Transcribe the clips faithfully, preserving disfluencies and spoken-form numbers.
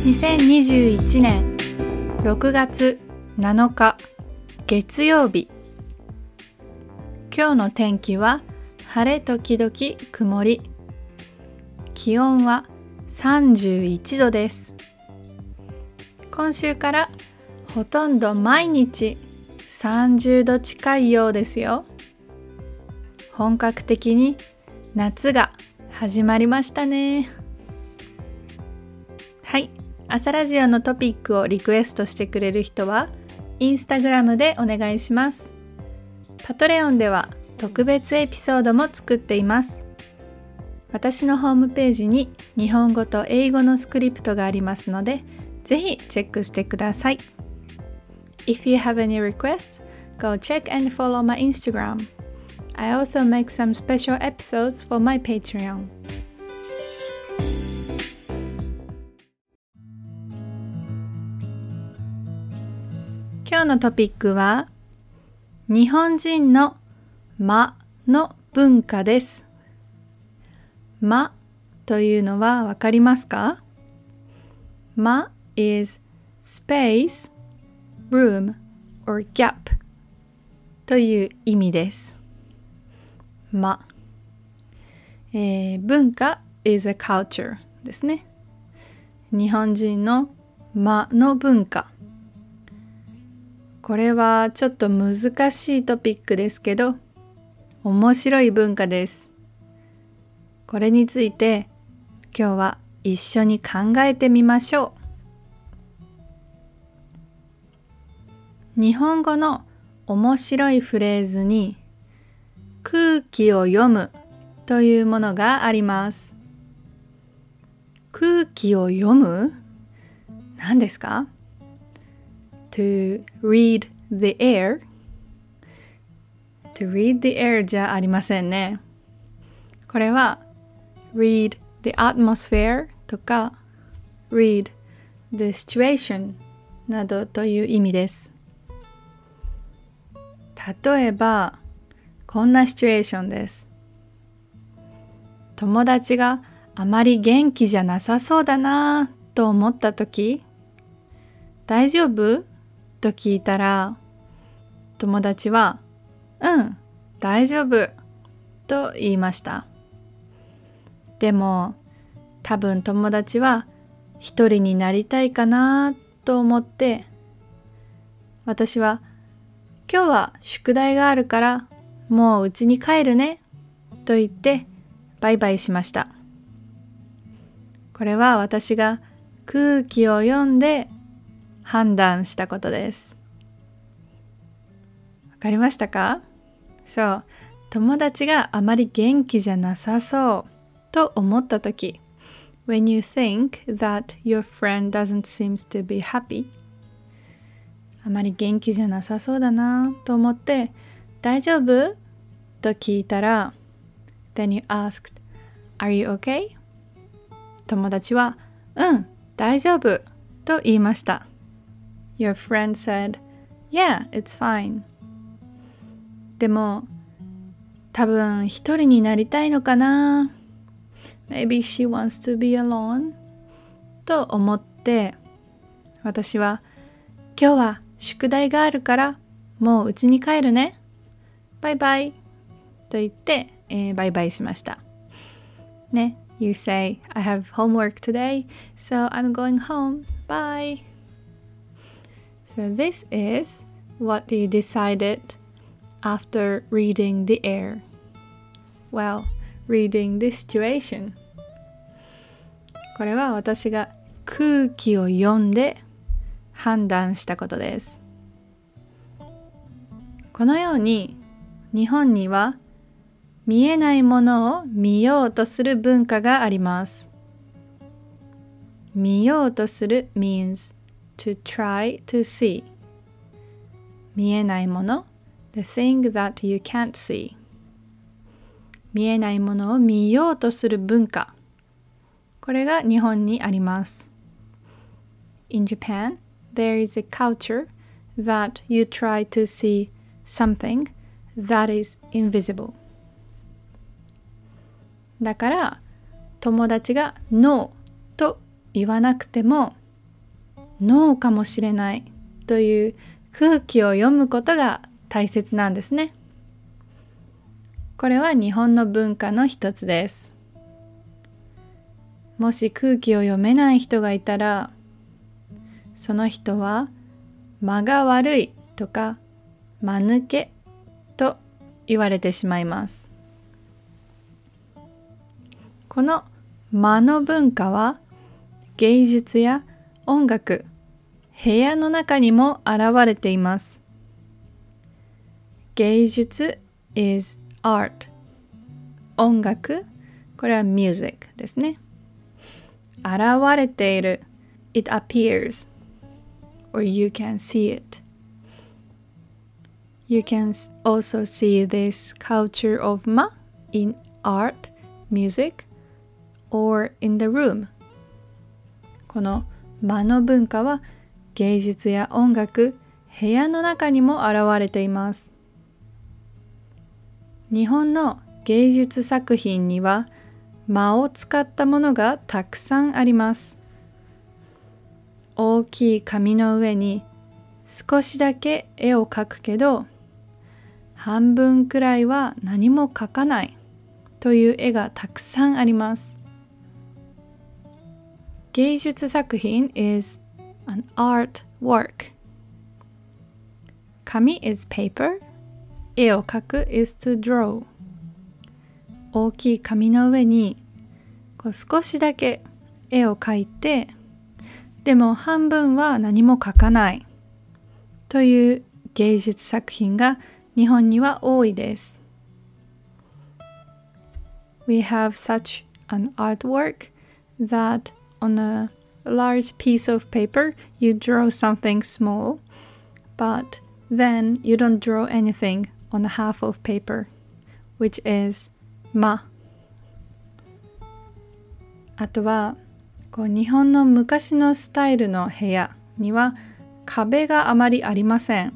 にせんにじゅういちねんろくがつなのか月曜日。今日の天気は晴れ時々曇り。気温はさんじゅういちどです。今週からほとんど毎日さんじゅうど近いようですよ。本格的に夏が始まりましたね。はい、朝ラジオのトピックをリクエストしてくれる人はインスタグラムでお願いします。パトレオンでは特別エピソードも作っています。私のホームページに日本語と英語のスクリプトがありますので、ぜひチェックしてください。If you have any requests, go check and follow my Instagram. I also make some special episodes for my Patreon. 今日のトピックは日本人の間の文化です。間というのはわかりますか？間 is space, room, or gap という意味です。間、えー、文化 is a culture ですね。日本人の間の文化。これはちょっと難しいトピックですけど、面白い文化です。これについて今日は一緒に考えてみましょう。日本語の面白いフレーズに空気を読むというものがあります。空気を読む？何ですか？ To read the air To read the air じゃありませんね。これは read the atmosphere とか read the situation などという意味です。例えばこんなシチュエーションです。友達があまり元気じゃなさそうだなと思ったとき、大丈夫？と聞いたら、友達は、うん、大丈夫と言いました。でも、多分友達は一人になりたいかなと思って、私は、今日は宿題があるからもう家に帰るねと言ってバイバイしました。これは私が空気を読んで判断したことです。わかりましたか？そう、友達があまり元気じゃなさそうと思ったとき、when you think that your friend doesn't seem to be happy、あまり元気じゃなさそうだなと思って大丈夫？と聞いたら Then you asked, Are you okay? 友達はうん、大丈夫と言いました。 Your friend said, Yeah, it's fine. でも多分一人になりたいのかな Maybe she wants to be alone と思って私は今日は宿題があるからもう家に帰るね。バイバイと言って、えー、バイバイしました。ね、You say, I have homework today, so I'm going home. Bye. So this is what you decided after reading the air. Well, reading the situation. これは私が空気を読んで判断したことです。このように日本には見えないものを見ようとする文化があります。見ようとする means to try to see。見えないもの the thing that you can't see。見えないものを見ようとする文化。これが日本にあります。In Japan, there is a culture that you try to see something that is invisible. だから友達が No と言わなくてもノーかもしれないという空気を読むことが大切なんですね。これは日本の文化の一つです。もし空気を読めない人がいたら、その人は間が悪いとか間抜けと言われてしまいます。この間の文化は芸術や音楽、部屋の中にも現れています。芸術 is art。音楽、これは music ですね。現れている it appears or you can see it. You can also see this culture of ma in art, music, or in the room. この間の文化は芸術や音楽、部屋の中にも現れています。日本の芸術作品には間を使ったものがたくさんあります。大きい紙の上に少しだけ絵を描くけど、半分くらいは何も描かないという絵がたくさんあります。芸術作品 is an art work. 紙 is paper. 絵を描く is to draw. 大きい紙の上にこう少しだけ絵を描いて、でも半分は何も描かないという芸術作品が日本には多いです。We have such an artwork that on a large piece of paper you draw something small, but then you don't draw anything on a half of paper, which is間。あとはこう日本の昔のスタイルの部屋には壁があまりありません。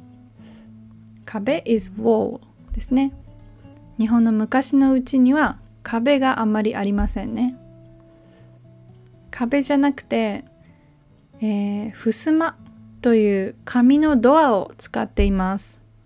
壁 is wall ですね。日本の昔のうちには壁があまりありませんね。壁じゃなくて、えー、襖という紙のドアを使っています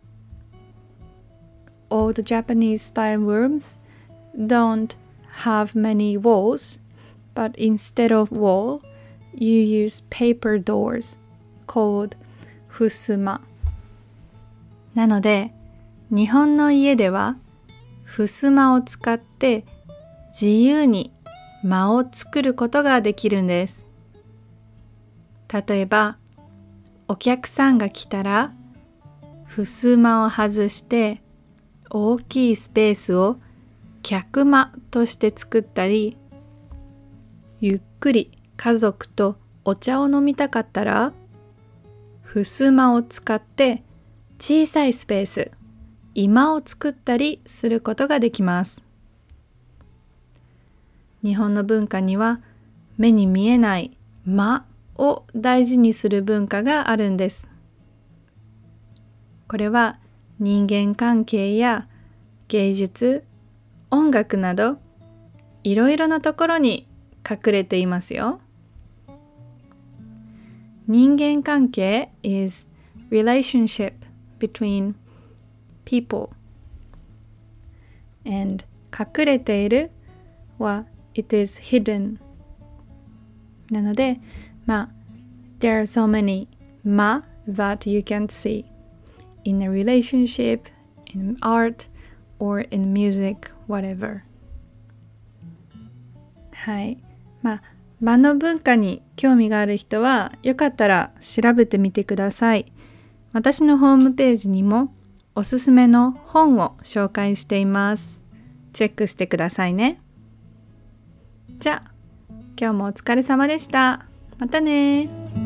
。Old Japanese style rooms don't have many walls, but instead of wall, you use paper doors called 襖。なので、日本の家では襖を使って自由に間を作ることができるんです。例えば、お客さんが来たら、襖を外して大きいスペースを客間として作ったり、ゆっくり家族とお茶を飲みたかったら、襖を使って小さいスペース、居間を作ったりすることができます。日本の文化には目に見えない間を大事にする文化があるんです。これは人間関係や芸術、音楽などいろいろなところに隠れていますよ。人間関係 is relationship between people and 隠れているは it is hidden なので、まあ there are so many 間 that you can't see in a relationship, in art, or in music, whatever. はい。まあ、間の文化に興味がある人は、よかったら調べてみてください。私のホームページにもおすすめの本を紹介しています。チェックしてくださいね。じゃあ、今日もお疲れ様でした。またね。